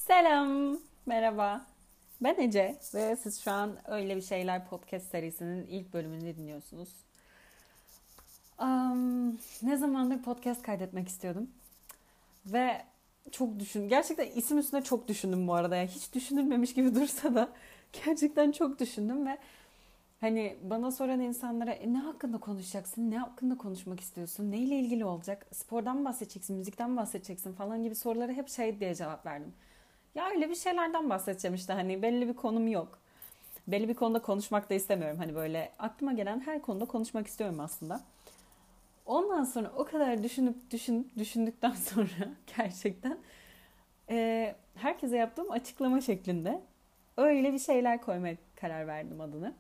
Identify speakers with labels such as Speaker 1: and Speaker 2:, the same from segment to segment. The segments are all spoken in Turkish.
Speaker 1: Selam, merhaba. Ben Ece ve siz şu an Öyle Bir Şeyler podcast serisinin ilk bölümünü dinliyorsunuz. Ne zamandır podcast kaydetmek istiyordum ve gerçekten isim üstüne çok düşündüm bu arada. Yani hiç düşünülmemiş gibi dursa da gerçekten çok düşündüm ve hani bana soran insanlara ne hakkında konuşacaksın, ne hakkında konuşmak istiyorsun, neyle ilgili olacak, spordan mı bahsedeceksin, müzikten mi bahsedeceksin falan gibi sorulara hep şey diye cevap verdim. Ya öyle bir şeylerden bahsedeceğim işte hani belli bir konum yok. Belli bir konuda konuşmak da istemiyorum. Hani böyle aklıma gelen her konuda konuşmak istiyorum aslında. Ondan sonra o kadar düşündükten sonra gerçekten herkese yaptığım açıklama şeklinde öyle bir şeyler koymaya karar verdim adını.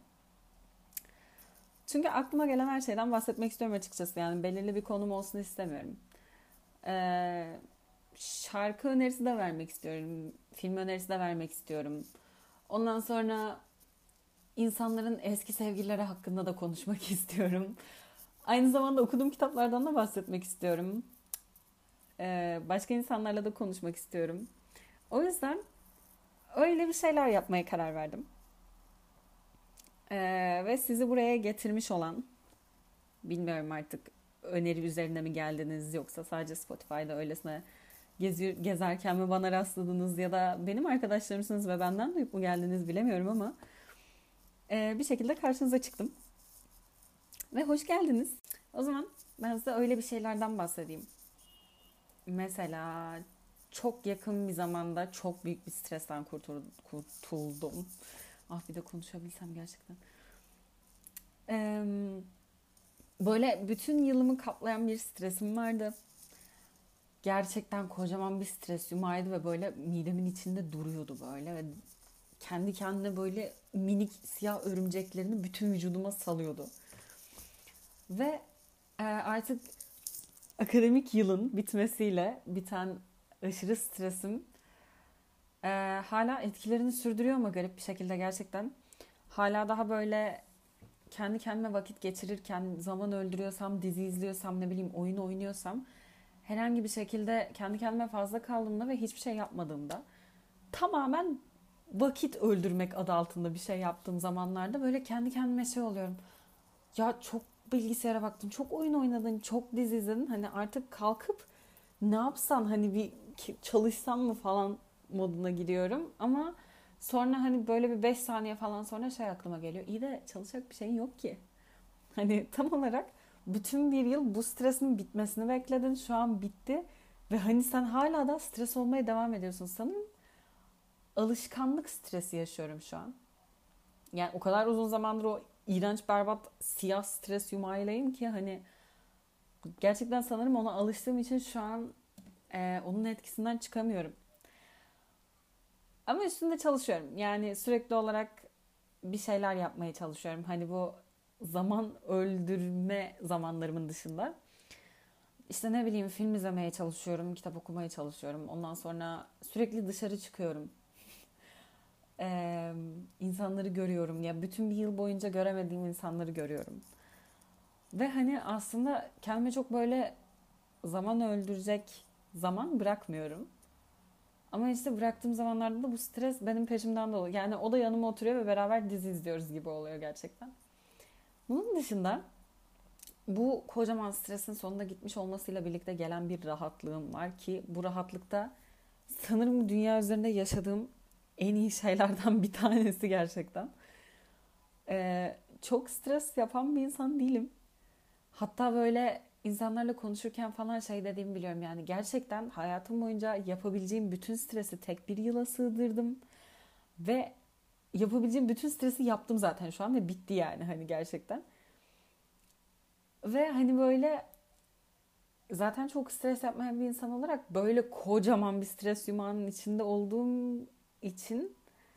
Speaker 1: Çünkü aklıma gelen her şeyden bahsetmek istiyorum açıkçası. Yani belirli bir konum olsun istemiyorum. Ee, Şarkı önerisi de vermek istiyorum. Film önerisi de vermek istiyorum. Ondan sonra insanların eski sevgilileri hakkında da konuşmak istiyorum. Aynı zamanda okuduğum kitaplardan da bahsetmek istiyorum. Başka insanlarla da konuşmak istiyorum. O yüzden öyle bir şeyler yapmaya karar verdim. Ve sizi buraya getirmiş olan, bilmiyorum artık öneri üzerine mi geldiniz yoksa sadece Spotify'da öylesine gezerken mi bana rastladınız ya da benim arkadaşlarımsınız ve benden duyup mu geldiniz bilemiyorum ama bir şekilde karşınıza çıktım. Ve hoş geldiniz. O zaman ben size öyle bir şeylerden bahsedeyim. Mesela çok yakın bir zamanda çok büyük bir stresten kurtuldum. Ah bir de konuşabilsem gerçekten. Ee, Böyle bütün yılımı kaplayan bir stresim vardı. Gerçekten kocaman bir stres yumağıydı ve böyle midemin içinde duruyordu böyle. Ve kendi kendine böyle minik siyah örümceklerini bütün vücuduma salıyordu. Ve artık akademik yılın bitmesiyle biten aşırı stresim hala etkilerini sürdürüyor ama garip bir şekilde gerçekten. Hala daha böyle kendi kendime vakit geçirirken, zaman öldürüyorsam, dizi izliyorsam, ne bileyim oyun oynuyorsam herhangi bir şekilde kendi kendime fazla kaldığımda ve hiçbir şey yapmadığımda tamamen vakit öldürmek adı altında bir şey yaptığım zamanlarda böyle kendi kendime şey oluyorum. Ya çok bilgisayara baktın, çok oyun oynadın, çok dizi izledin. Hani artık kalkıp ne yapsan hani bir çalışsan mı falan moduna giriyorum. Ama sonra hani böyle bir 5 saniye falan sonra şey aklıma geliyor. İyi de çalışacak bir şeyin yok ki. Hani tam olarak bütün bir yıl bu stresin bitmesini bekledin. Şu an bitti. Ve hani sen hala da stres olmaya devam ediyorsun. Sanırım alışkanlık stresi yaşıyorum şu an. Yani o kadar uzun zamandır o iğrenç berbat siyah stres yumağıylayım ki hani gerçekten sanırım ona alıştığım için şu an onun etkisinden çıkamıyorum. Ama üstünde çalışıyorum. Yani sürekli olarak bir şeyler yapmaya çalışıyorum. Hani bu zaman öldürme zamanlarımın dışında. İşte ne bileyim film izlemeye çalışıyorum, kitap okumaya çalışıyorum. Ondan sonra sürekli dışarı çıkıyorum. İnsanları görüyorum. Ya bütün bir yıl boyunca göremediğim insanları görüyorum. Ve hani aslında kendime çok böyle zaman öldürecek zaman bırakmıyorum. Ama işte bıraktığım zamanlarda da bu stres benim peşimden dolu. Yani o da yanıma oturuyor ve beraber dizi izliyoruz gibi oluyor gerçekten. Bunun dışında bu kocaman stresin sonunda gitmiş olmasıyla birlikte gelen bir rahatlığım var ki bu rahatlıkta sanırım dünya üzerinde yaşadığım en iyi şeylerden bir tanesi gerçekten. Çok stres yapan bir insan değilim. Hatta böyle insanlarla konuşurken falan şey dediğimi biliyorum. Yani gerçekten hayatım boyunca yapabileceğim bütün stresi tek bir yıla sığdırdım. Ve yapabileceğim bütün stresi yaptım zaten şu an ve bitti yani hani gerçekten. Ve hani böyle zaten çok stres yapmayan bir insan olarak böyle kocaman bir stres yumağının içinde olduğum için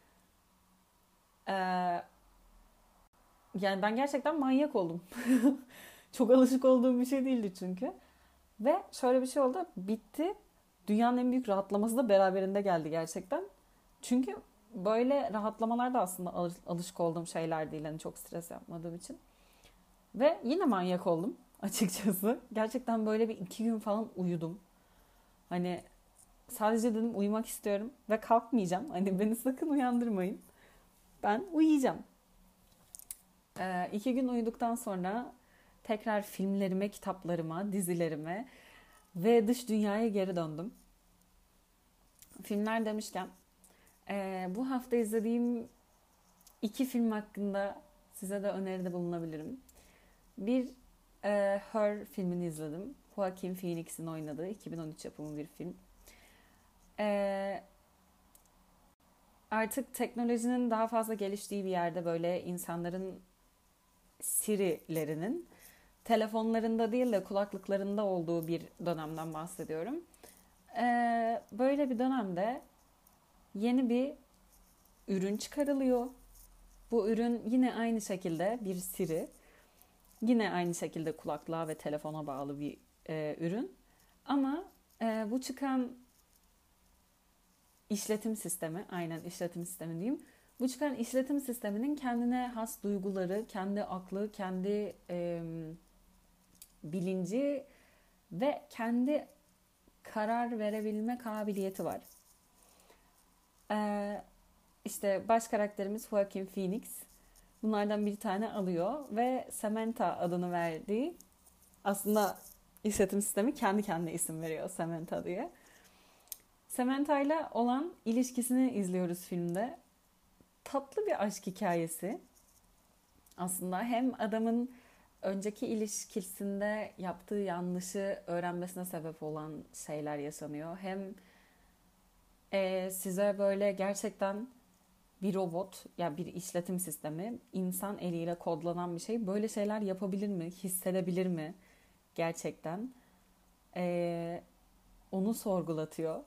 Speaker 1: eee, yani ben gerçekten manyak oldum. Çok alışık olduğum bir şey değildi çünkü. Ve şöyle bir şey oldu. Bitti. Dünyanın en büyük rahatlaması da beraberinde geldi gerçekten. Çünkü böyle rahatlamalar da aslında alışık olduğum şeyler değil. Hani çok stres yapmadığım için. Ve yine manyak oldum açıkçası. Gerçekten böyle bir 2 gün falan uyudum. Hani Sadece dedim uyumak istiyorum ve kalkmayacağım. Hani beni sakın uyandırmayın. Ben uyuyacağım. 2 gün uyuduktan sonra tekrar filmlerime, kitaplarıma, dizilerime ve dış dünyaya geri döndüm. Filmler demişken bu hafta izlediğim 2 film hakkında size de öneride bulunabilirim. Bir Her filmini izledim. Joaquin Phoenix'in oynadığı 2013 yapımı bir film. E, Artık teknolojinin daha fazla geliştiği bir yerde böyle insanların Siri'lerinin telefonlarında değil de kulaklıklarında olduğu bir dönemden bahsediyorum. Böyle bir dönemde yeni bir ürün çıkarılıyor. Bu ürün yine aynı şekilde bir Siri. Yine aynı şekilde kulaklığa ve telefona bağlı bir ürün. Ama bu çıkan işletim sistemi, aynen işletim sistemi diyeyim. Bu çıkan işletim sisteminin kendine has duyguları, kendi aklı, kendi bilinci ve kendi karar verebilme kabiliyeti var. İşte baş karakterimiz Joaquin Phoenix. Bunlardan bir tane alıyor ve Samantha adını verdiği, aslında işletim sistemi kendi kendine isim veriyor Samantha diye. Samantha ile olan ilişkisini izliyoruz filmde. Tatlı bir aşk hikayesi. Aslında hem adamın önceki ilişkisinde yaptığı yanlışı öğrenmesine sebep olan şeyler yaşanıyor. Hem size böyle gerçekten bir robot, ya bir işletim sistemi, insan eliyle kodlanan bir şey böyle şeyler yapabilir mi, hissedebilir mi gerçekten? Onu sorgulatıyor.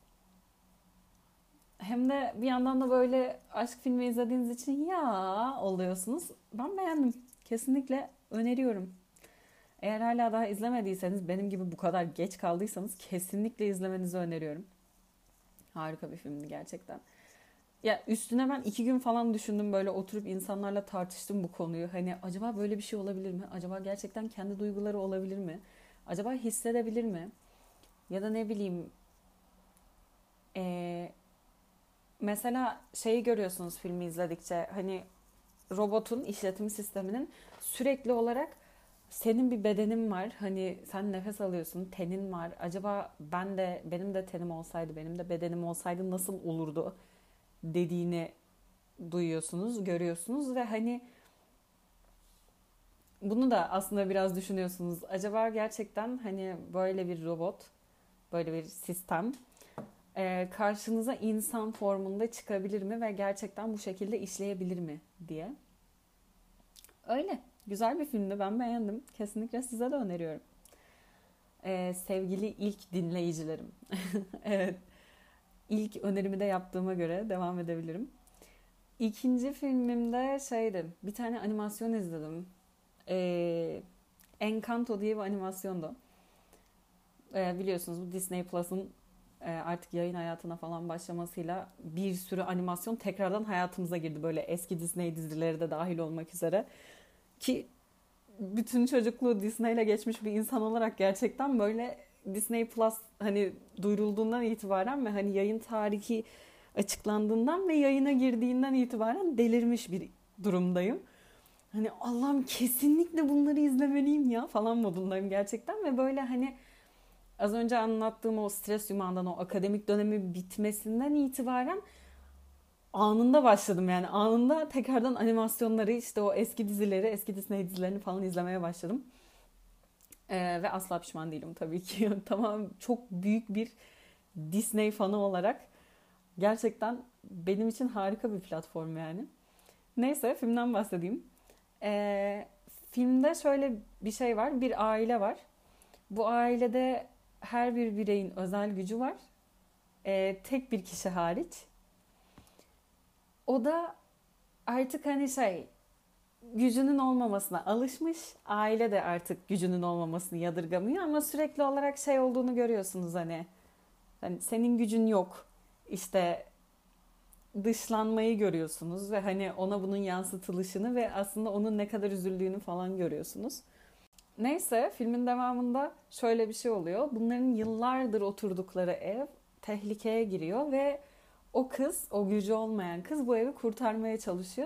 Speaker 1: Hem de bir yandan da böyle aşk filmi izlediğiniz için ya oluyorsunuz. Ben beğendim. Kesinlikle öneriyorum. Eğer hala daha izlemediyseniz, benim gibi bu kadar geç kaldıysanız kesinlikle izlemenizi öneriyorum. Harika bir filmdi gerçekten. Ya üstüne ben 2 gün falan düşündüm, böyle oturup insanlarla tartıştım bu konuyu. Hani acaba böyle bir şey olabilir mi? Acaba gerçekten kendi duyguları olabilir mi? Acaba hissedebilir mi? Ya da ne bileyim, ee, mesela şeyi görüyorsunuz filmi izledikçe, hani robotun işletim sisteminin sürekli olarak senin bir bedenin var. Hani sen nefes alıyorsun, tenin var. Acaba benim de tenim olsaydı, benim de bedenim olsaydı nasıl olurdu dediğini duyuyorsunuz, görüyorsunuz ve hani bunu da aslında biraz düşünüyorsunuz. Acaba gerçekten hani böyle bir robot, böyle bir sistem karşınıza insan formunda çıkabilir mi ve gerçekten bu şekilde işleyebilir mi diye. Öyle. Güzel bir filmdi. Ben beğendim. Kesinlikle size de öneriyorum. Sevgili ilk dinleyicilerim. Evet. İlk önerimi de yaptığıma göre devam edebilirim. İkinci filmimde şeydi. Bir tane animasyon izledim. Encanto diye bir animasyondu. Biliyorsunuz bu Disney Plus'ın artık yayın hayatına falan başlamasıyla bir sürü animasyon tekrardan hayatımıza girdi. Böyle eski Disney dizileri de dahil olmak üzere. Ki bütün çocukluğu Disney'le geçmiş bir insan olarak gerçekten böyle Disney Plus hani duyurulduğundan itibaren ve hani yayın tarihi açıklandığından ve yayına girdiğinden itibaren delirmiş bir durumdayım. Hani Allah'ım kesinlikle bunları izlemeliyim ya falan modundayım gerçekten ve böyle hani az önce anlattığım o stres yumağından, o akademik dönemi bitmesinden itibaren anında başladım, yani anında tekrardan animasyonları, işte o eski dizileri, eski Disney dizilerini falan izlemeye başladım. Ve asla pişman değilim tabii ki. Tamam, çok büyük bir Disney fanı olarak gerçekten benim için harika bir platform yani. Neyse, filmden bahsedeyim. Filmde şöyle bir şey var. Bir aile var. Bu ailede her bir bireyin özel gücü var. Tek bir kişi hariç. O da artık hani gücünün olmamasına alışmış. Aile de artık gücünün olmamasını yadırgamıyor ama sürekli olarak olduğunu görüyorsunuz hani. Hani senin gücün yok. İşte dışlanmayı görüyorsunuz ve hani ona bunun yansıtılışını ve aslında onun ne kadar üzüldüğünü falan görüyorsunuz. Neyse, filmin devamında şöyle bir şey oluyor. Bunların yıllardır oturdukları ev tehlikeye giriyor ve o kız, o gücü olmayan kız bu evi kurtarmaya çalışıyor.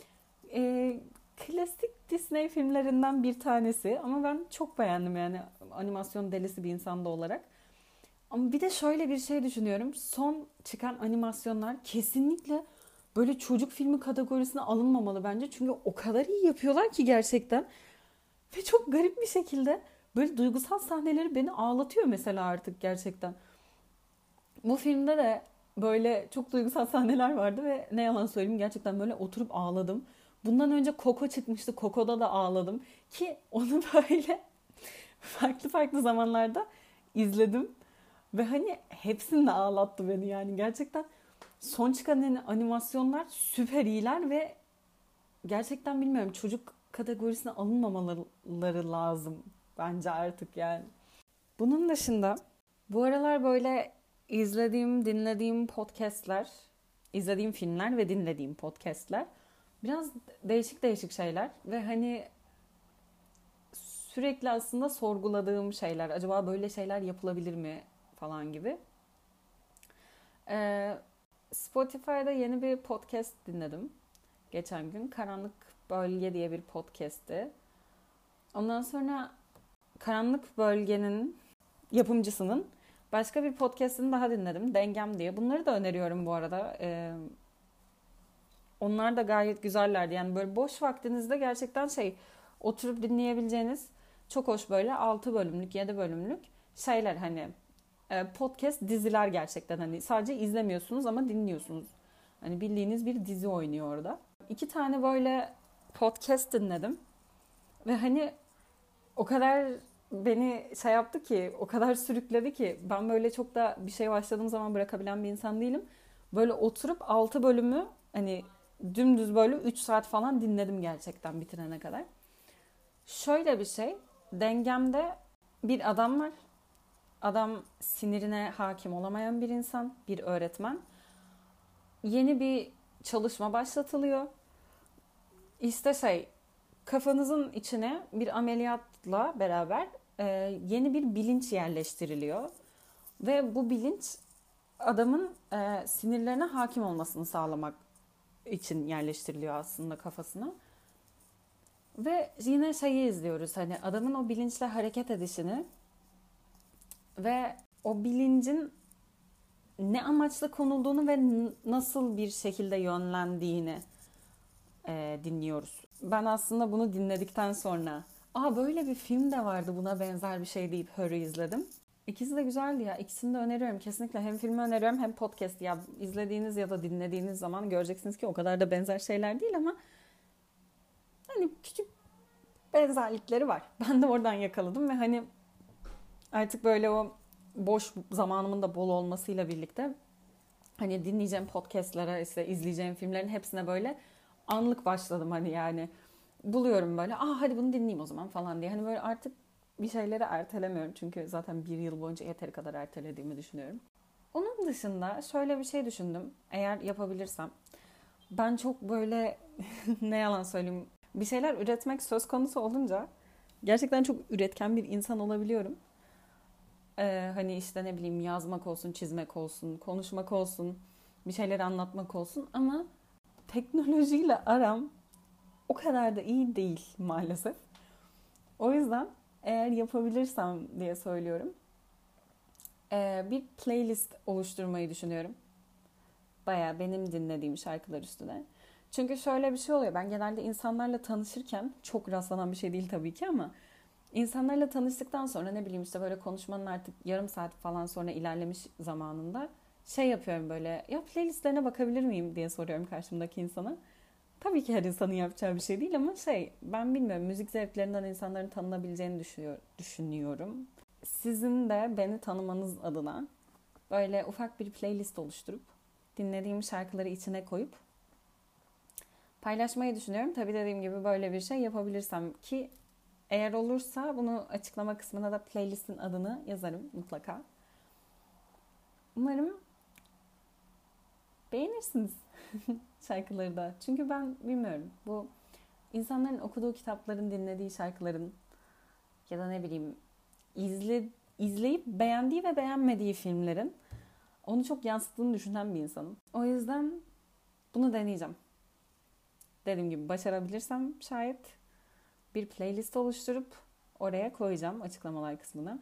Speaker 1: Klasik Disney filmlerinden bir tanesi ama ben çok beğendim yani animasyon delisi bir insan da olarak. Ama bir de şöyle bir şey düşünüyorum. Son çıkan animasyonlar kesinlikle böyle çocuk filmi kategorisine alınmamalı bence. Çünkü o kadar iyi yapıyorlar ki gerçekten. Ve çok garip bir şekilde böyle duygusal sahneleri beni ağlatıyor mesela artık gerçekten. Bu filmde de böyle çok duygusal sahneler vardı ve ne yalan söyleyeyim gerçekten böyle oturup ağladım. Bundan önce Coco çıkmıştı. Coco'da da ağladım. Ki onu böyle farklı farklı zamanlarda izledim. Ve hani hepsinde ağlattı beni yani. Gerçekten son çıkan animasyonlar süper iyiler ve gerçekten bilmiyorum çocuk kategorisine alınmamaları lazım bence artık yani. Bunun dışında bu aralar böyle dinlediğim podcastler, izlediğim filmler ve dinlediğim podcastler biraz değişik değişik şeyler ve hani sürekli aslında sorguladığım şeyler. Acaba böyle şeyler yapılabilir mi falan gibi. Ee, Spotify'da yeni bir podcast dinledim geçen gün. Karanlık Bölge diye bir podcast'ti. Ondan sonra Karanlık Bölge'nin yapımcısının başka bir podcast'ini daha dinledim. Dengem diye. Bunları da öneriyorum bu arada. Onlar da gayet güzellerdi. Yani böyle boş vaktinizde gerçekten oturup dinleyebileceğiniz çok hoş böyle 6 bölümlük 7 bölümlük şeyler hani podcast diziler gerçekten hani sadece izlemiyorsunuz ama dinliyorsunuz. Hani bildiğiniz bir dizi oynuyor orada. 2 tane böyle podcast dinledim ve hani o kadar beni yaptı ki, o kadar sürükledi ki ben böyle çok da bir şey başladığım zaman bırakabilen bir insan değilim. Böyle oturup 6 bölümü hani dümdüz böyle 3 saat falan dinledim gerçekten bitirene kadar. Şöyle bir şey, dengemde bir adam var. Adam sinirine hakim olamayan bir insan, bir öğretmen. Yeni bir çalışma başlatılıyor. İşte kafanızın içine bir ameliyatla beraber yeni bir bilinç yerleştiriliyor. Ve bu bilinç adamın sinirlerine hakim olmasını sağlamak için yerleştiriliyor aslında kafasına. Ve yine izliyoruz hani adamın o bilinçle hareket edişini ve o bilincin ne amaçla konulduğunu ve nasıl bir şekilde yönlendiğini dinliyoruz. Ben aslında bunu dinledikten sonra böyle bir film de vardı buna benzer bir şey deyip Hör'ü izledim. İkisi de güzeldi ya. İkisini de öneriyorum. Kesinlikle hem filmi öneriyorum hem podcast. Ya izlediğiniz ya da dinlediğiniz zaman göreceksiniz ki o kadar da benzer şeyler değil ama hani küçük benzerlikleri var. Ben de oradan yakaladım ve hani artık böyle o boş zamanımın da bol olmasıyla birlikte hani dinleyeceğim podcastlara, işte izleyeceğim filmlerin hepsine böyle anlık başladım hani yani. Buluyorum böyle hadi bunu dinleyeyim o zaman falan diye. Hani böyle artık bir şeyleri ertelemiyorum. Çünkü zaten bir yıl boyunca yeteri kadar ertelediğimi düşünüyorum. Onun dışında şöyle bir şey düşündüm. Eğer yapabilirsem. Ben çok böyle ne yalan söyleyeyim. Bir şeyler üretmek söz konusu olunca gerçekten çok üretken bir insan olabiliyorum. Hani işte ne bileyim yazmak olsun, çizmek olsun, konuşmak olsun, bir şeyleri anlatmak olsun ama teknolojiyle aram o kadar da iyi değil maalesef. O yüzden eğer yapabilirsem diye söylüyorum. Bir playlist oluşturmayı düşünüyorum. Baya benim dinlediğim şarkılar üstüne. Çünkü şöyle bir şey oluyor. Ben genelde insanlarla tanışırken çok rastlanan bir şey değil tabii ki ama insanlarla tanıştıktan sonra ne bileyim işte böyle konuşmanın artık yarım saat falan sonra ilerlemiş zamanında yapıyorum böyle ya playlistlerine bakabilir miyim diye soruyorum karşımdaki insana. Tabii ki her insanın yapacağı bir şey değil ama ben bilmiyorum müzik zevklerinden insanların tanınabileceğini düşünüyorum. Sizin de beni tanımanız adına böyle ufak bir playlist oluşturup dinlediğim şarkıları içine koyup paylaşmayı düşünüyorum. Tabii dediğim gibi böyle bir şey yapabilirsem ki eğer olursa bunu açıklama kısmına da playlistin adını yazarım mutlaka. Umarım beğenirsiniz şarkıları da. Çünkü ben bilmiyorum bu insanların okuduğu kitapların, dinlediği şarkıların ya da ne bileyim izleyip beğendiği ve beğenmediği filmlerin Onu çok yansıttığını düşünen bir insanım. O yüzden bunu deneyeceğim. Dediğim gibi başarabilirsem şayet bir playlist oluşturup oraya koyacağım açıklamalar kısmına.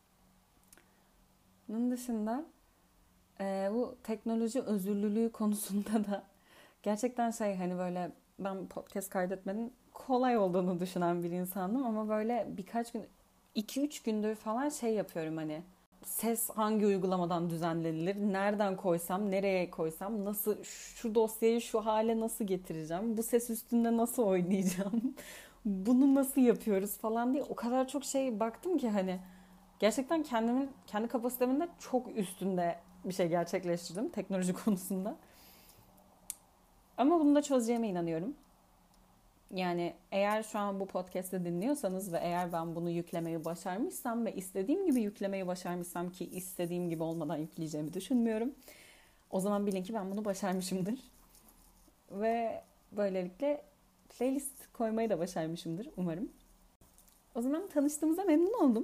Speaker 1: Bunun dışında bu teknoloji özürlülüğü konusunda da gerçekten hani böyle ben podcast kaydetmenin kolay olduğunu düşünen bir insandım ama böyle birkaç gün 2-3 gündür falan yapıyorum hani ses hangi uygulamadan düzenlenilir, nereden koysam, nereye koysam, nasıl şu dosyayı şu hale nasıl getireceğim, bu ses üstünde nasıl oynayacağım, bunu nasıl yapıyoruz falan diye o kadar çok baktım ki hani gerçekten kendi kapasitemin de çok üstünde bir şey gerçekleştirdim teknoloji konusunda. Ama bunu da çözeceğime inanıyorum. Yani eğer şu an bu podcast'ı dinliyorsanız ve eğer ben bunu yüklemeyi başarmışsam ve istediğim gibi yüklemeyi başarmışsam ki istediğim gibi olmadan yükleyeceğimi düşünmüyorum. O zaman bilin ki ben bunu başarmışımdır. Ve böylelikle playlist koymayı da başarmışımdır umarım. O zaman tanıştığımıza memnun oldum.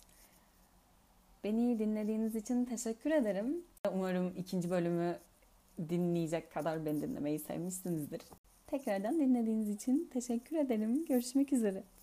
Speaker 1: Beni dinlediğiniz için teşekkür ederim. Umarım ikinci bölümü dinleyecek kadar beni dinlemeyi sevmişsinizdir. Tekrardan dinlediğiniz için teşekkür ederim. Görüşmek üzere.